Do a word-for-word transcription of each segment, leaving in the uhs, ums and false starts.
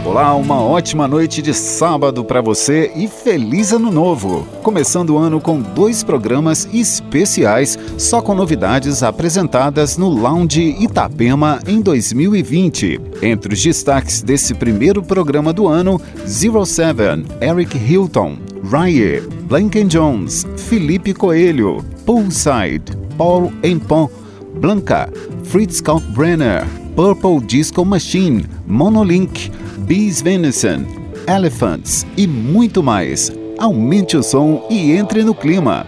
Olá, uma ótima noite de sábado para você e feliz ano novo! Começando o ano com dois programas especiais, só com novidades apresentadas no Lounge Itapema em dois mil e vinte. Entre os destaques desse primeiro programa do ano, Zero Seven, Eric Hilton, Rye, Blanken Jones, Felipe Coelho, Poolside, Paul Empon, Blanca, Fritz Kalkbrenner, Purple Disco Machine, Monolink, Bees Venison, Elephants e muito mais. Aumente o som e entre no clima.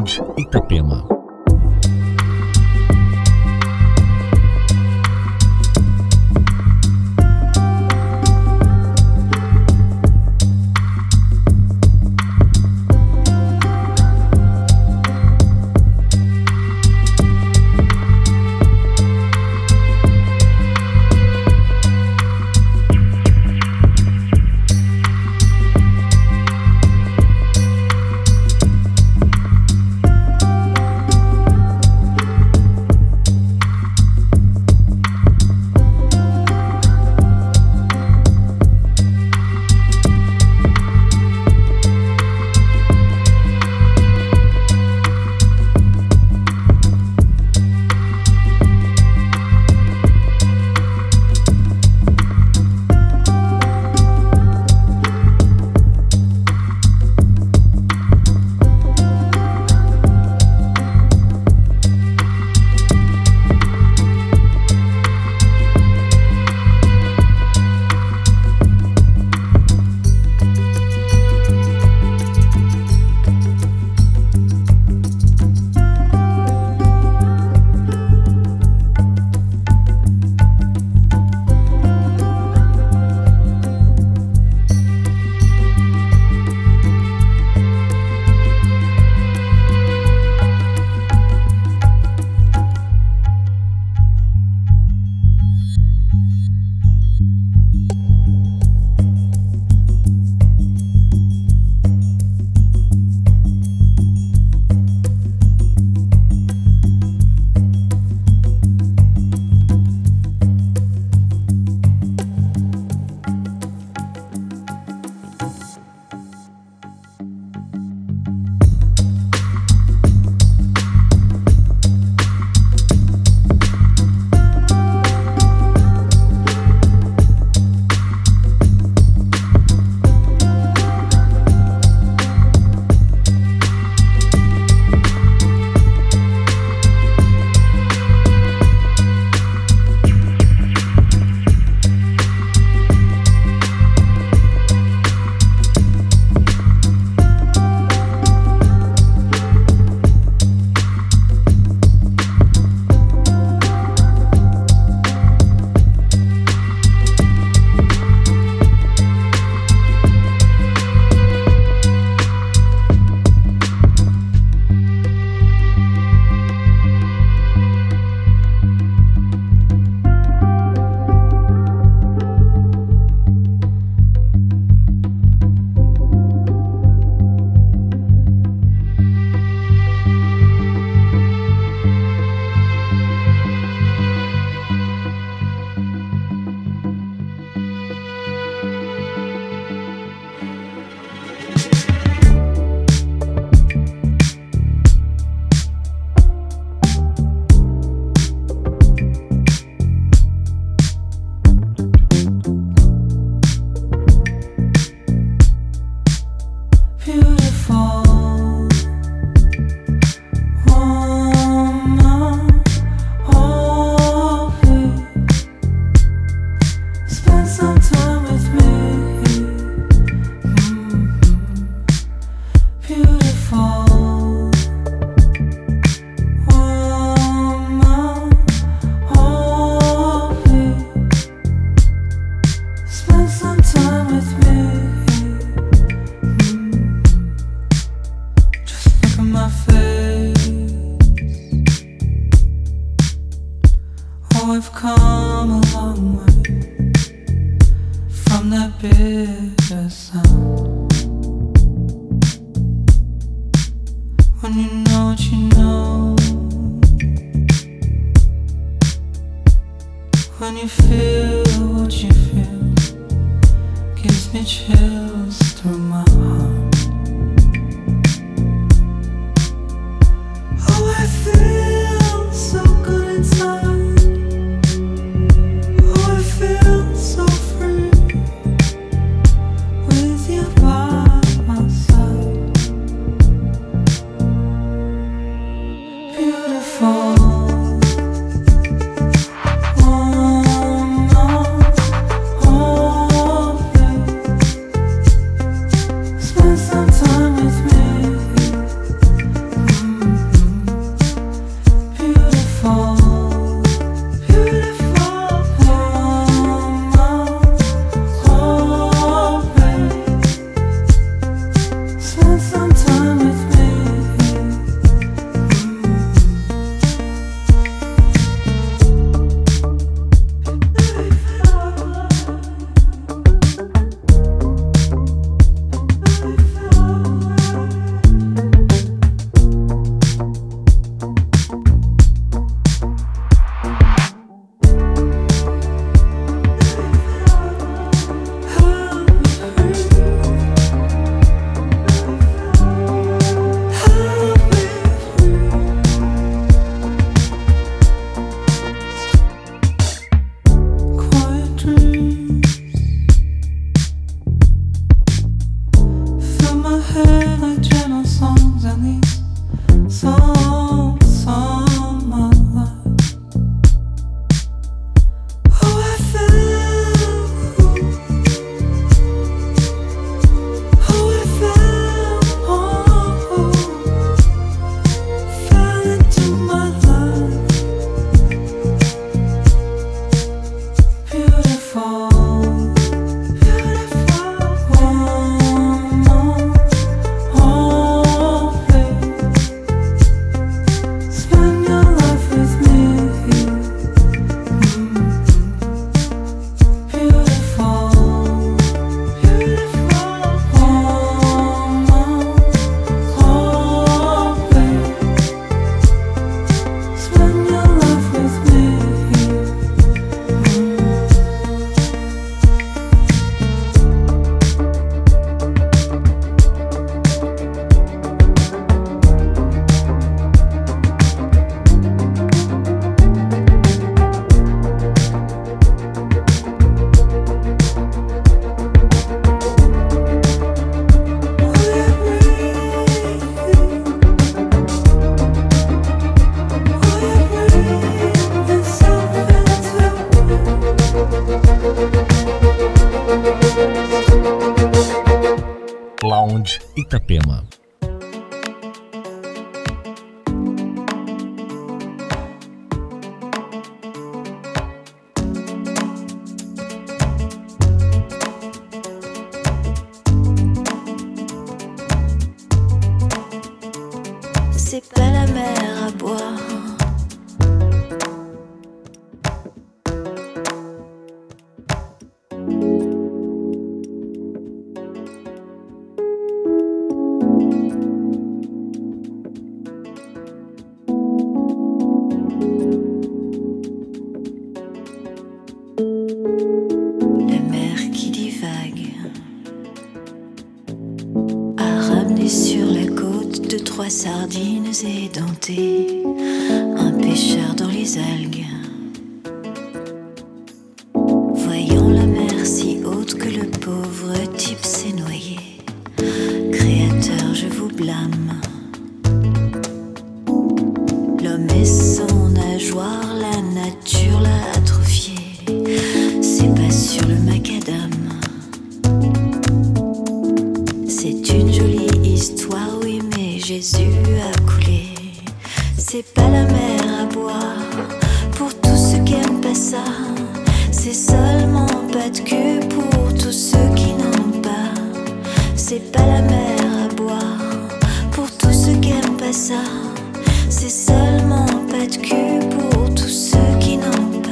Lounge Itapema. Smile. Lounge Itapema. C'est pas la mer à boire. Sardines édentées, un pêcheur dans les algues. Voyant la mer si haute que le pauvre type s'est noyé. Créateur, je vous blâme. L'homme est sans nageoire, la nature l'a atrophié. C'est pas sur le macadam. C'est une jolie histoire, oui, mais Jésus a coulé. C'est pas la mer à boire pour tous ceux qui aiment pas ça. C'est seulement pas de cul pour tous ceux qui n'en ont pas. C'est pas la mer à boire pour tous ceux qui aiment pas ça. C'est seulement pas de cul pour tous ceux qui n'en ont pas.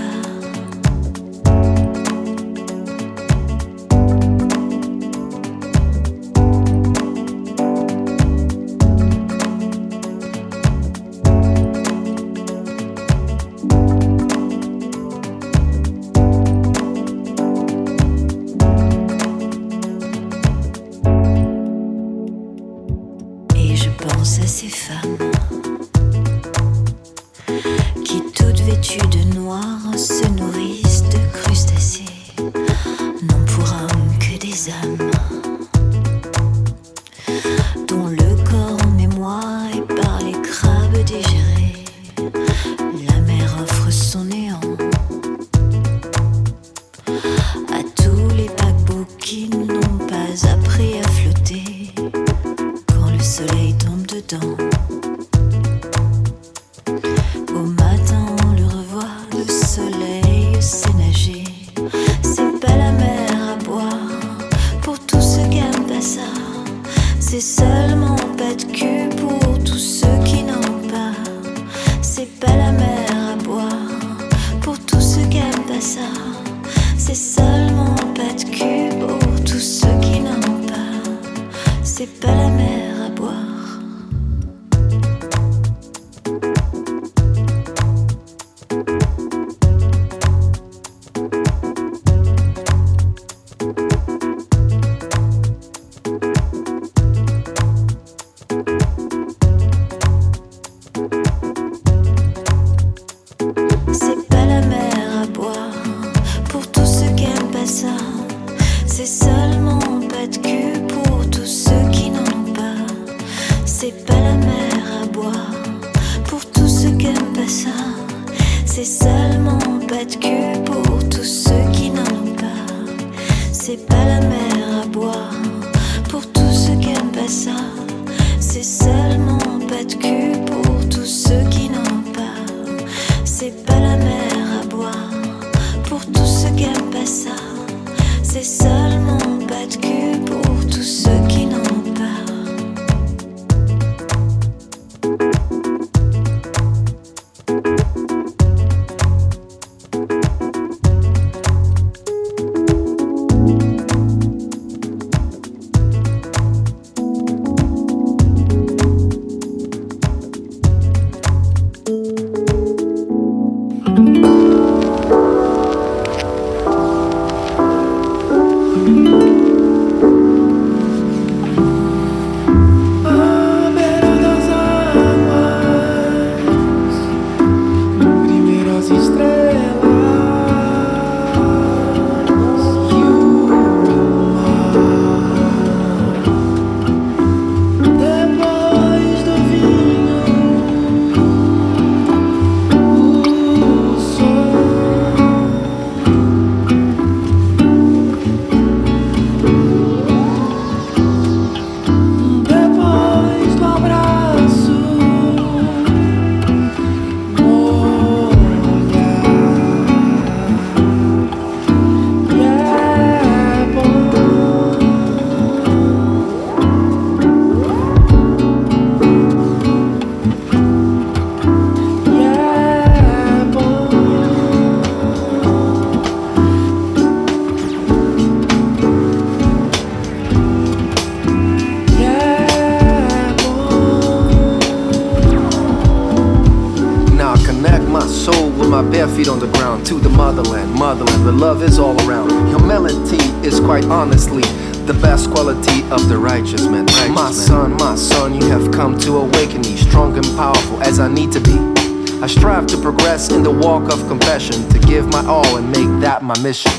À ces femmes qui, toutes vêtues de noir, se nourrissent de crustacés, non pour hommes que des âmes, dont le corps en mémoire est par les crabes digérés. La mer offre son néant à tous les paquebots qui n'ont pas appris à flotter quand le soleil tombe dedans. Au matin on le revoit, le soleil sait nager. C'est pas la mer à boire pour tous ceux qui aiment pas ça. C'est seulement pas de cul pour tous ceux qui n'en ont pas. C'est pas la mer à boire pour tous ceux qui aiment pas ça. C'est seulement pas de cul pour tous ceux qui n'en ont pas. C'est pas la mer à boire. C'est seulement pas de cul pour tous ceux qui n'en ont pas. C'est pas la mer à boire pour tous ceux qui aiment pas ça. C'est seulement pas de cul pour tous ceux qui n'en ont pas. C'est pas la mer à boire pour tous ceux qui aiment pas ça. C'est seulement pas de cul pour tous ceux qui n'en ont pas. C'est pas la mer à boire pour tous ceux qui aiment pas ça. C'est seulement pas de cul pour tous ceux qui n'en ont pas. feet on the ground. To the motherland, motherland, the love is all around. Humility is quite honestly the best quality of the righteous man. Righteous my man. son, my son, you have come to awaken me, strong and powerful as I need to be. I strive to progress in the walk of compassion, to give my all and make that my mission.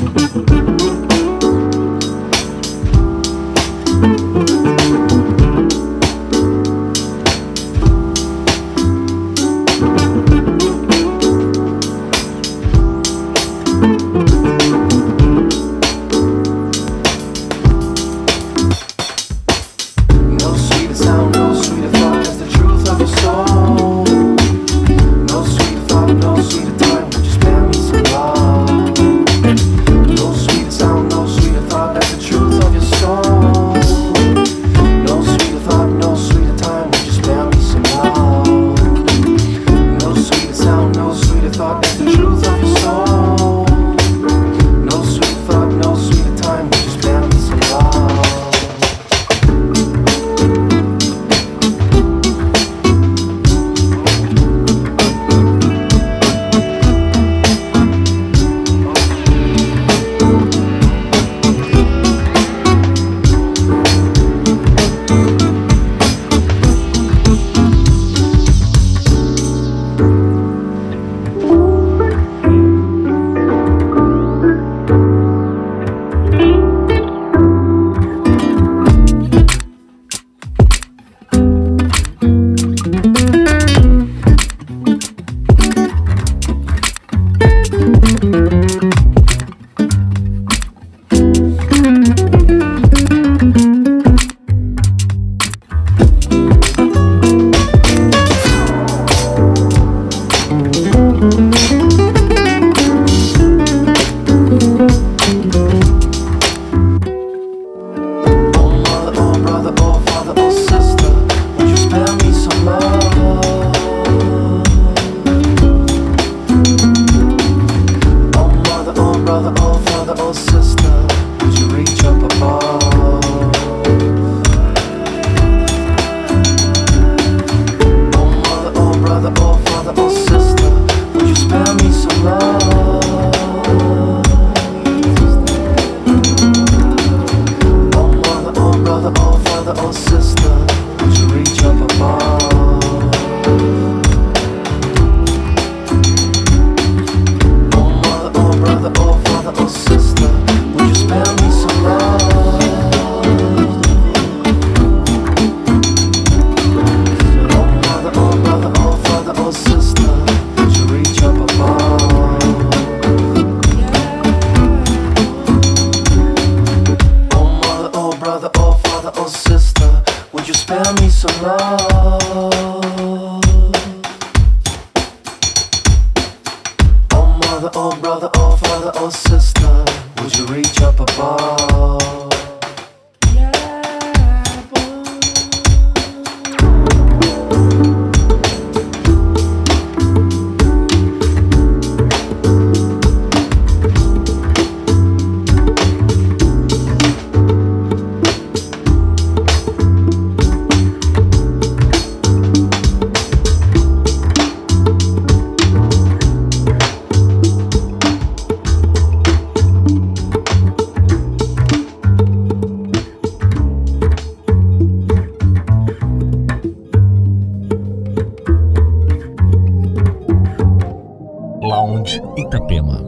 Itapema.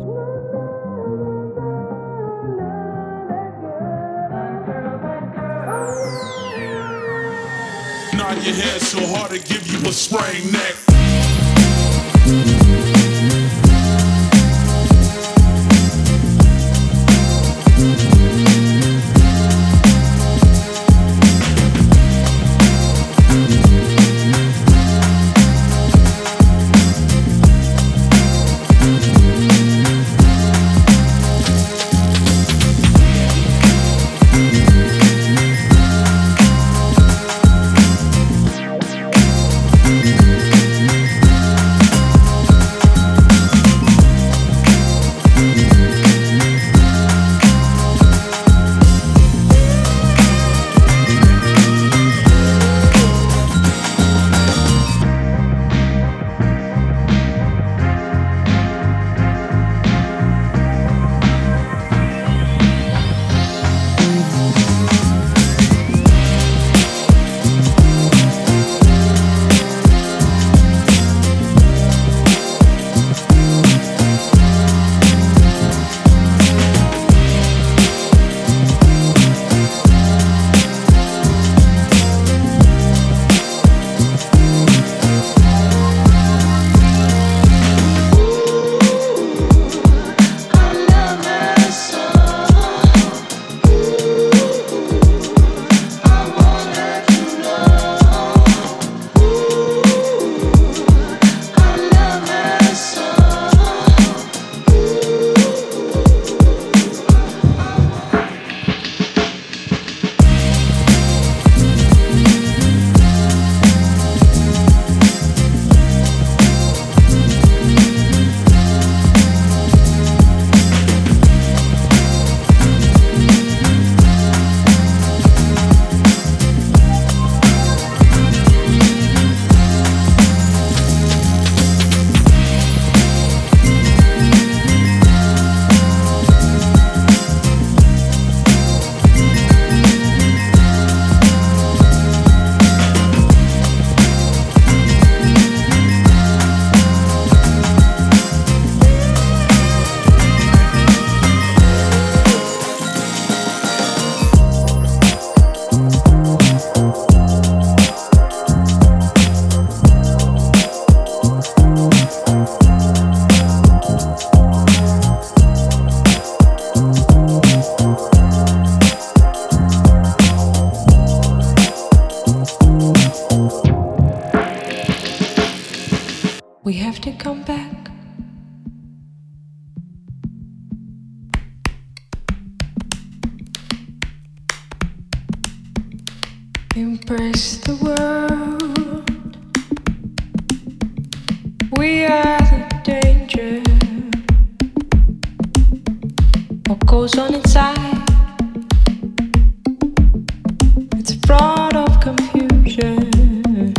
Nod your head so hard to give you a sprained neck. Embrace the world. We are the danger. What goes on inside? It's a fraud of confusion.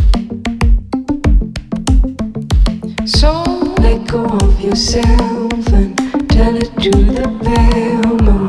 So let go of yourself and tell it to the pale moon.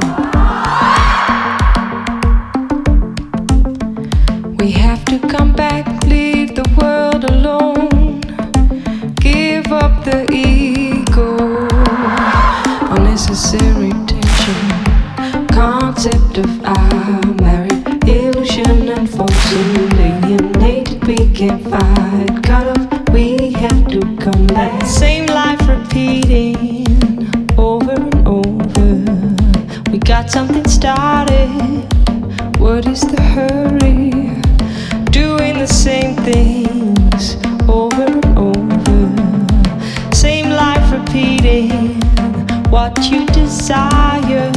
We have to come back, leave the world alone. Give up the ego, unnecessary tension. Concept of I married, illusion and false alienated. We can't fight, cut off, we have to come back. Same life repeating over and over. We got something started, what is the hurry? Doing the same things over and over. Same life repeating what you desire.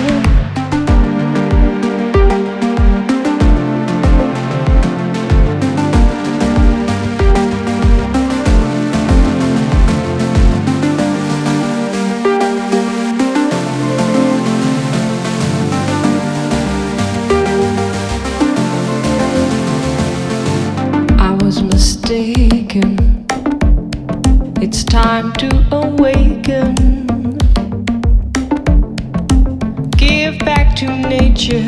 Mistaken. It's time to awaken. Give back to nature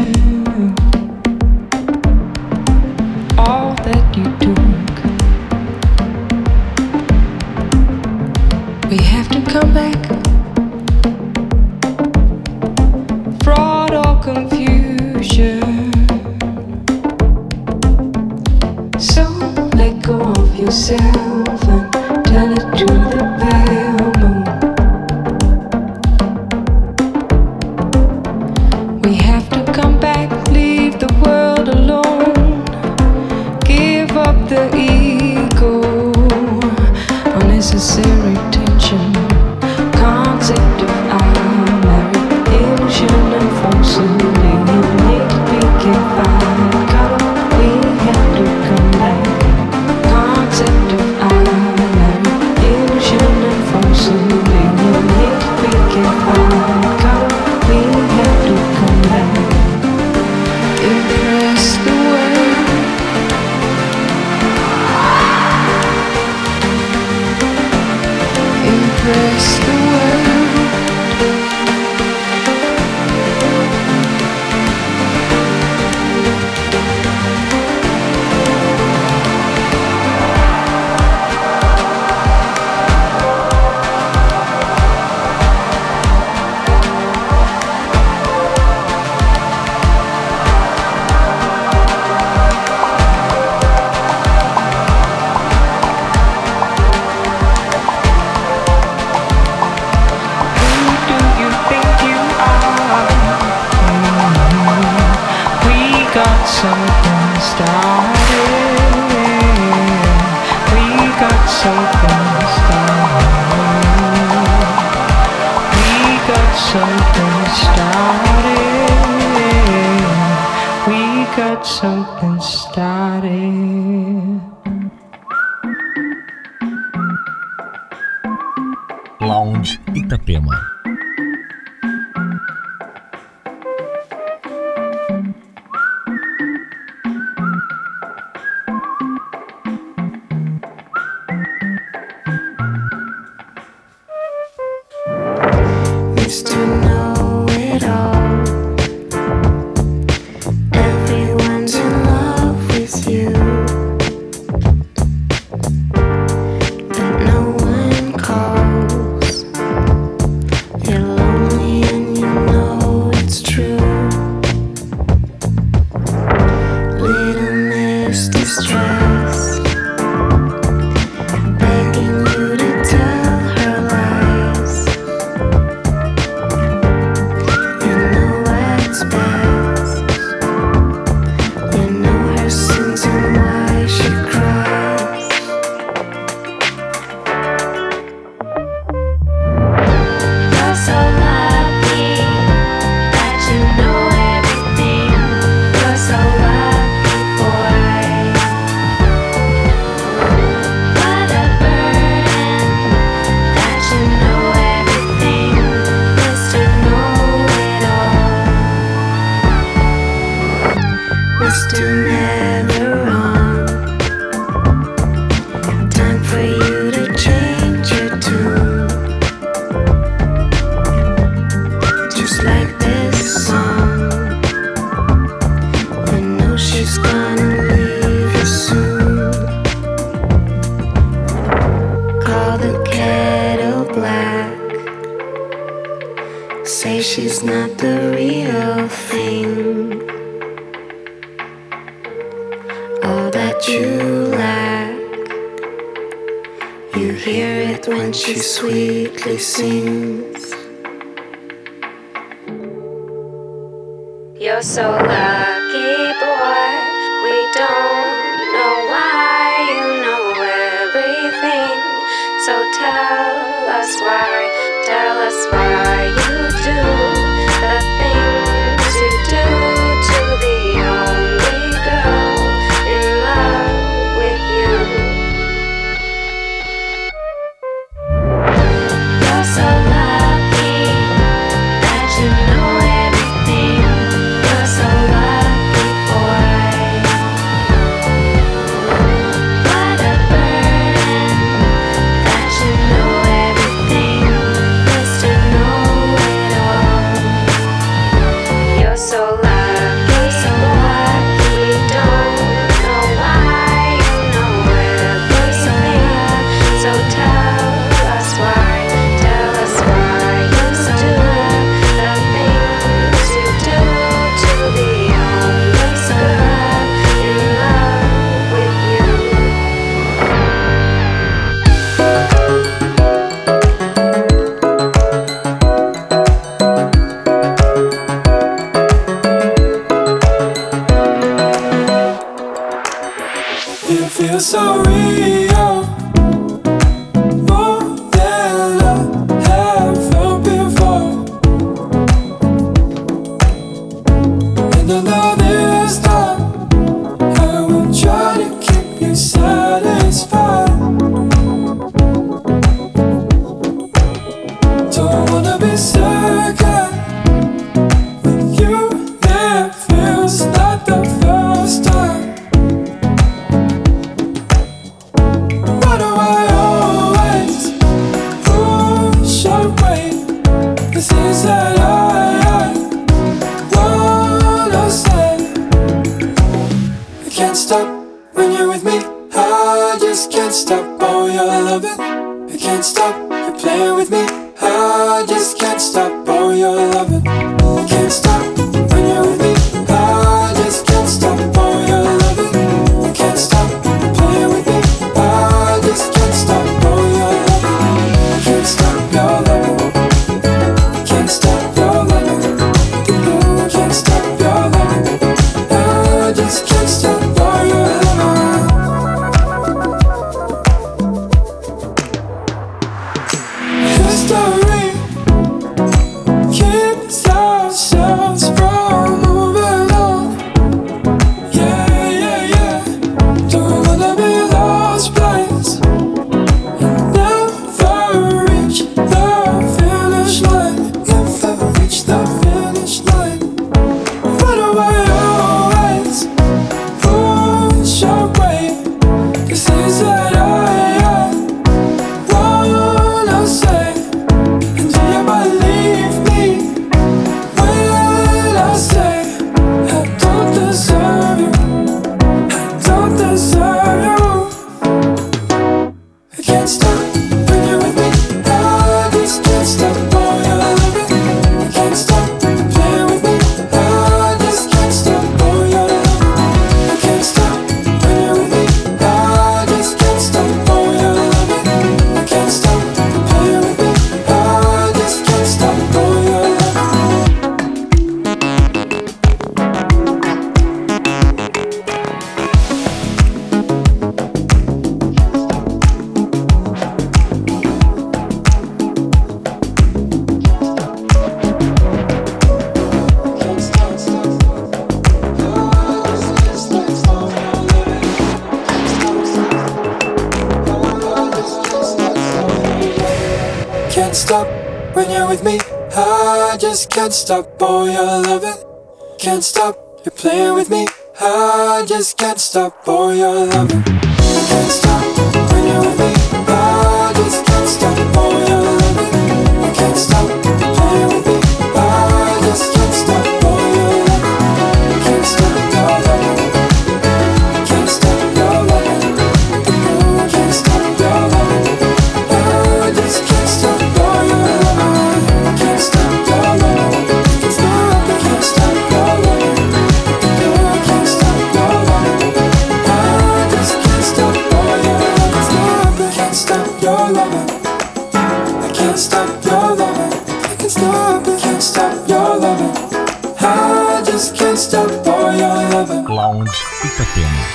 all that you took. We have to come back. Fraud or confusion. So let go of yourself and tell it to the pale moon. We have to come back, leave the world alone. Give up the ego, unnecessary tension. Concept of I married, illusion and false alienated. We can't fight, cut off, we have to come back. Concept of I married, illusion and false alienated. We can't fight, cut off, we have to come back. Impress the world. Impress the world. Something started. We got something started. We got something started. We got something started. Lounge Itapema. For Mister Never Wrong. Time for you to change your tune, just like this song. I know she's gonna leave you soon. Call the kettle black, say she's not the real thing. All that you lack, you hear it when she sweetly sings. You're so lucky, boy. We don't know why you know everything. So tell us why, tell us why you do the things you do to the only girl in love with you. You're so lucky that you know everything. You're so lucky, boy. What a burden that you know everything, Mister Know-It-All. You're so lucky, so lucky. We don't know why you know everything. So tell us why, tell us why you do the things you do to the only girl in love with you. It feels so real, more than I have felt before. And I know this time I will try to keep you satisfied. Don't wanna be second with you. It feels like the first time. Why do I always push away the things that I, I wanna say? I can't stop when you're with me. I just can't stop. Oh, you're loving. I can't stop. You're playing with me. I just can't stop. Oh, you're loving. I can't stop when you're with me. I just can't stop. Oh, you're loving. I can't stop. You're playing with me. I just can't stop. Oh, you're loving. I can't stop. Your loving. I can't stop. Your loving. I can't stop. Your loving. I just can't stop. Oh, you're loving. History keeps ourselves from moving on. Yeah, yeah, yeah. Don't wanna be lost place and never reach the finish line. Never reach the finish line. Why do I always push away the things that I, I wanna say? And do you believe me when I say I don't deserve you? I don't deserve you. I can't stop when you're with me. I just can't stop. Oh, you're loving. I can't stop playing with me. I just can't stop. Oh, you're loving. I can't stop when you're with me. I just can't stop. Oh, you're loving. I can't stop playing with me. I just can't stop. Oh, you're loving. Can't stop when you're with me. I just can't stop. Oh, you're loving. Can't stop. You're playing with me. I just can't stop for your loving. I can't stop when you're with me. I just can't stop for your loving. I can't stop playing with me. I just can't stop for your loving. I can't stop your loving. I can't stop your loving. I can't stop your loving. I just can't stop for your loving. I can't stop your loving. I can't stop. I can't stop your loving. I can't stop your loving. I just can't stop for your loving. I can't stop your loving. I can't stop your loving. I can't stop. I can't stop your loving. I just can't stop for your loving. Lounge Itapema.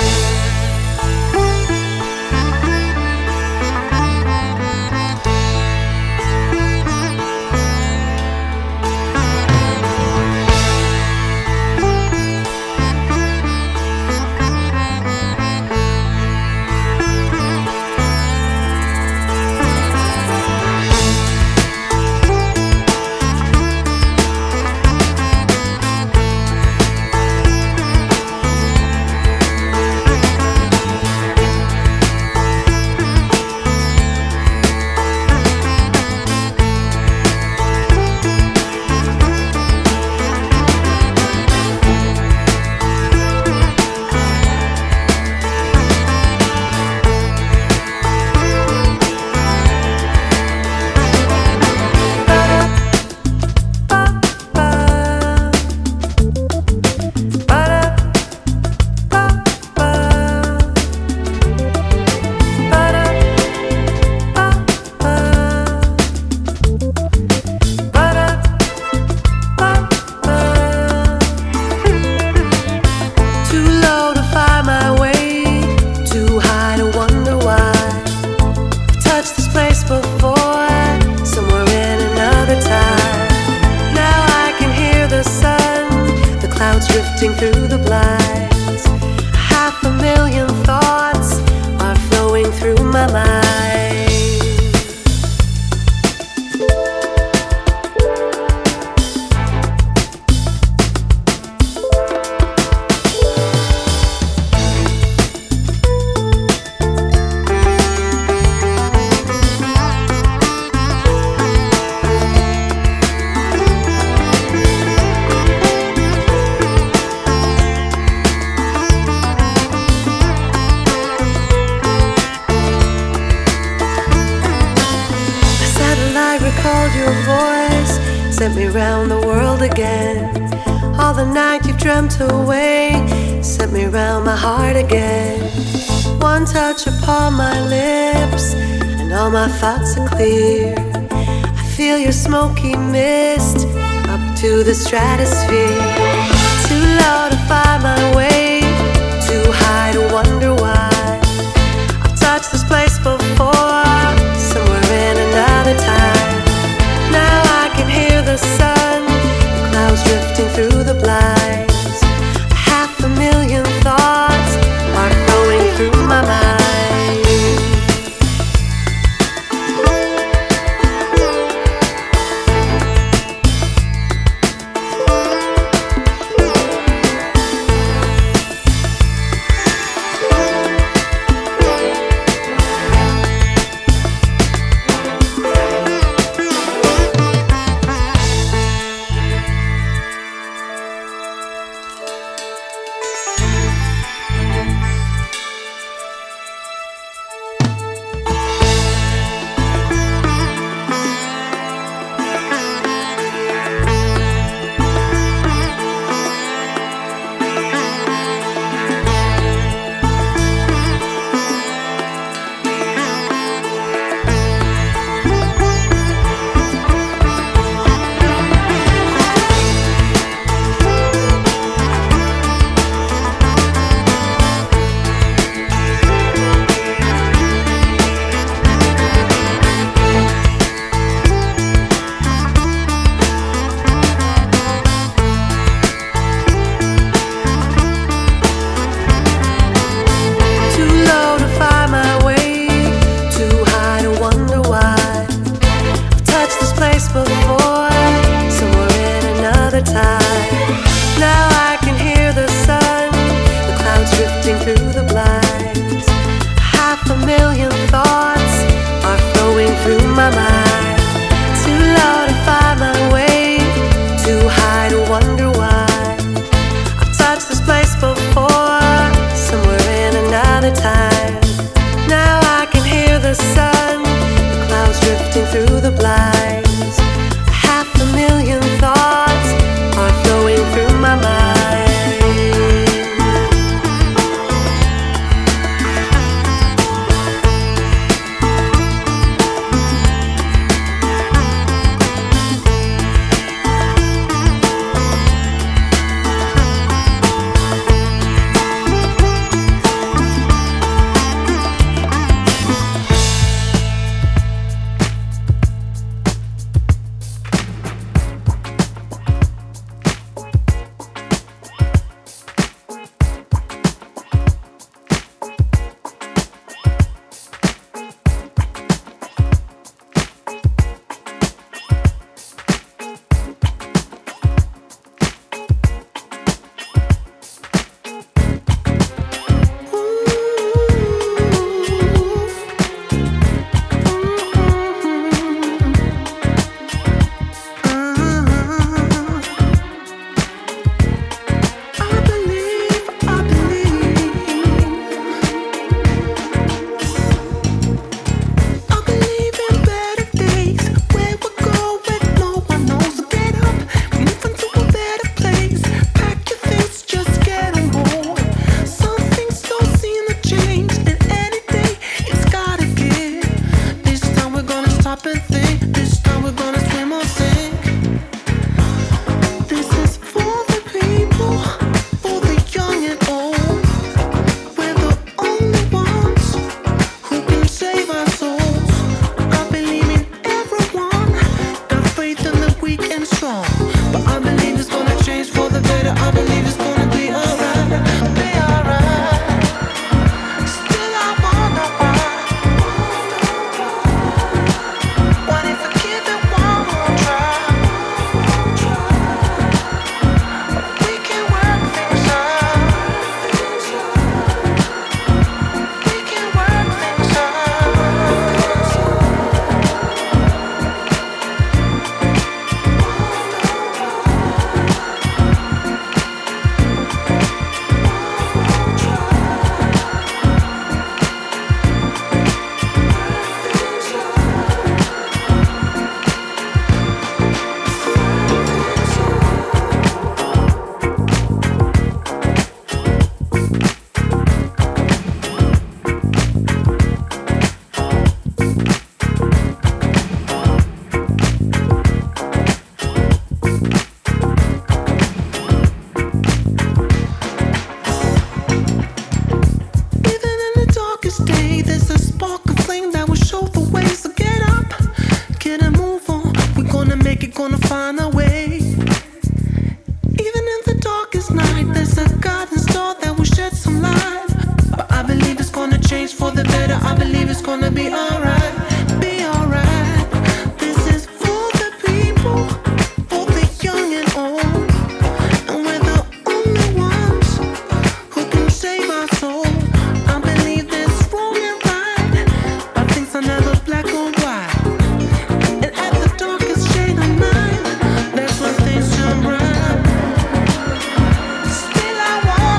Drifting through the blinds, half a million thoughts are flowing through my mind. Sent me round the world again. All the night you've dreamt away sent me round my heart again. One touch upon my lips and all my thoughts are clear. I feel your smoky mist up to the stratosphere. Too low to find my way, too high to wonder why. I've touched this place before, somewhere in another time. Now I can hear the sun, the clouds drifting through the blinds. Half a million thoughts are flowing through my mind. the blinds. Half a million thoughts are flowing through my mind.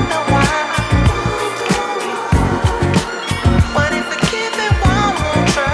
What if I give it one more try?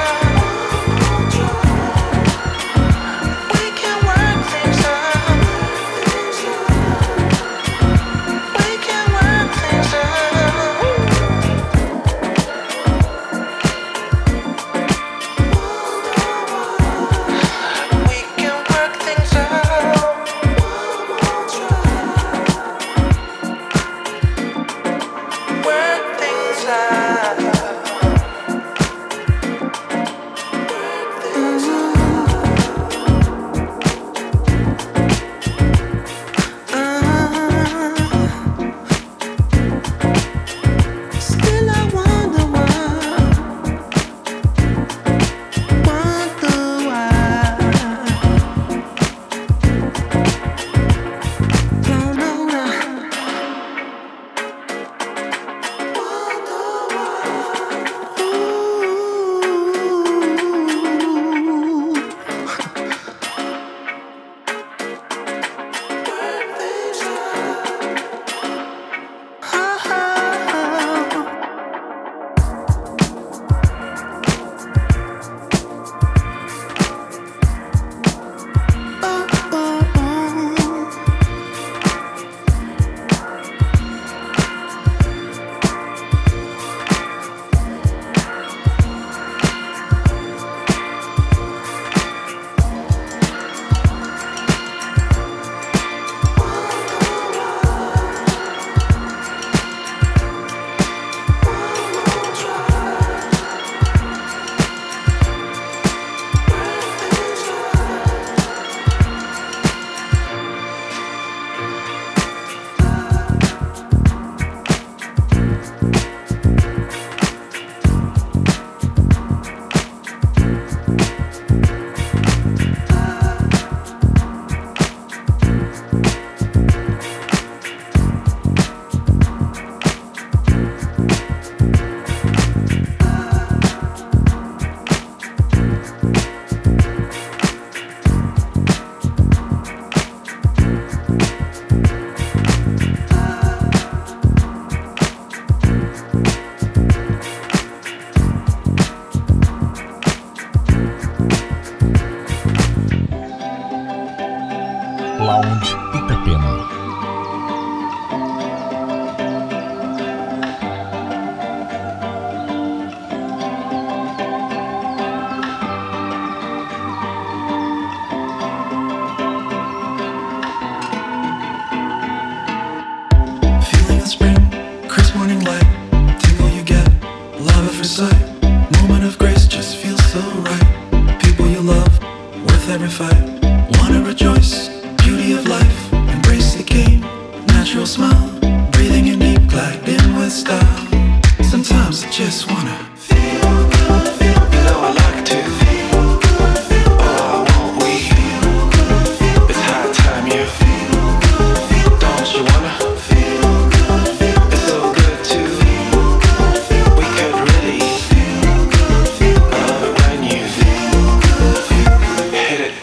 spring, crisp morning light, tingle you get, love at first sight, moment of grace just feels so right. People you love, worth every fight, wanna rejoice, beauty of life, embrace the game, natural smile, breathing in deep, glide in with style. Sometimes I just wanna feel good, feel good. You know I like to feel good, feel good. Oh, I want we feel good, feel good. It's high time you feel good, feel good. Don't you wanna feel good, feel good. It's so good to feel good, feel good. We could really feel good, feel good. I love it when you feel good, feel good. Hit it.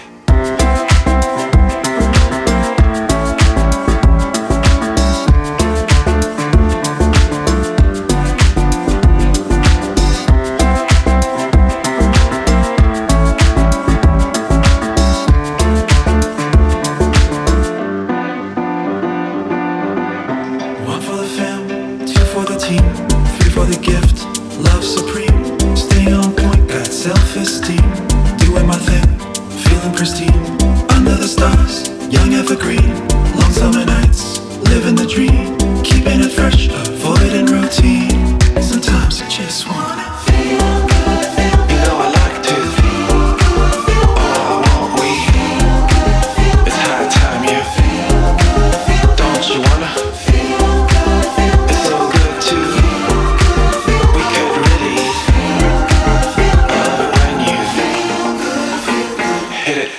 One for the fam, two for the team, three for the gift, love supreme. Staying on point, got self-esteem. Doing my thing, feeling pristine. Under the stars, young evergreen. Long summer nights, living the dream. Keeping it fresh, avoiding routine. Sometimes I just wanna feel good, feel good. You know I like to feel good, feel good. Oh, I want we feel good, feel good. It's high time you feel good, feel good. Don't you wanna feel good, feel good. It's so good to feel good, feel good. We could really feel good, feel good. I love it when you feel good, feel good. Hit it.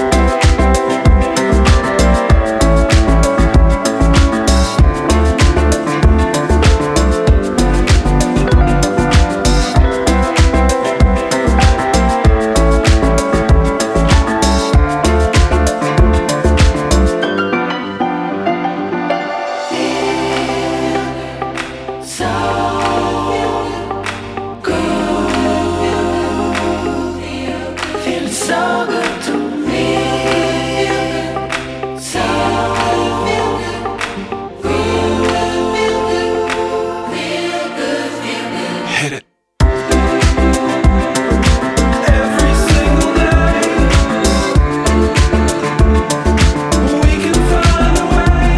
Hit it. Every single day, we can find a way.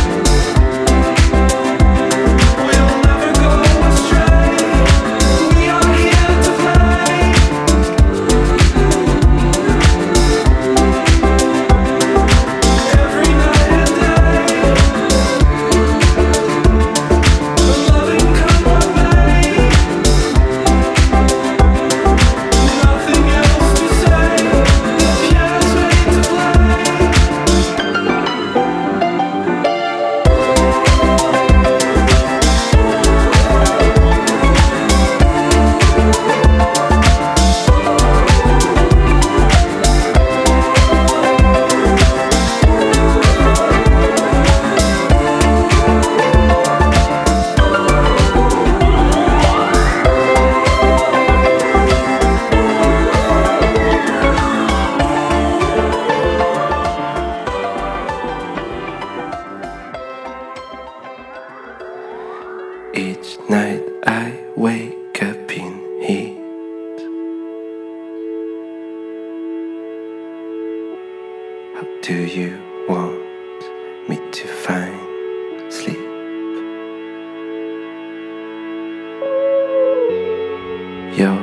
We'll never go astray. We are here to play. Every night and day, the loving come our way. Nothing else to say. The piano's made to play. Each night I wake up in heat. How do you want me to find sleep? Your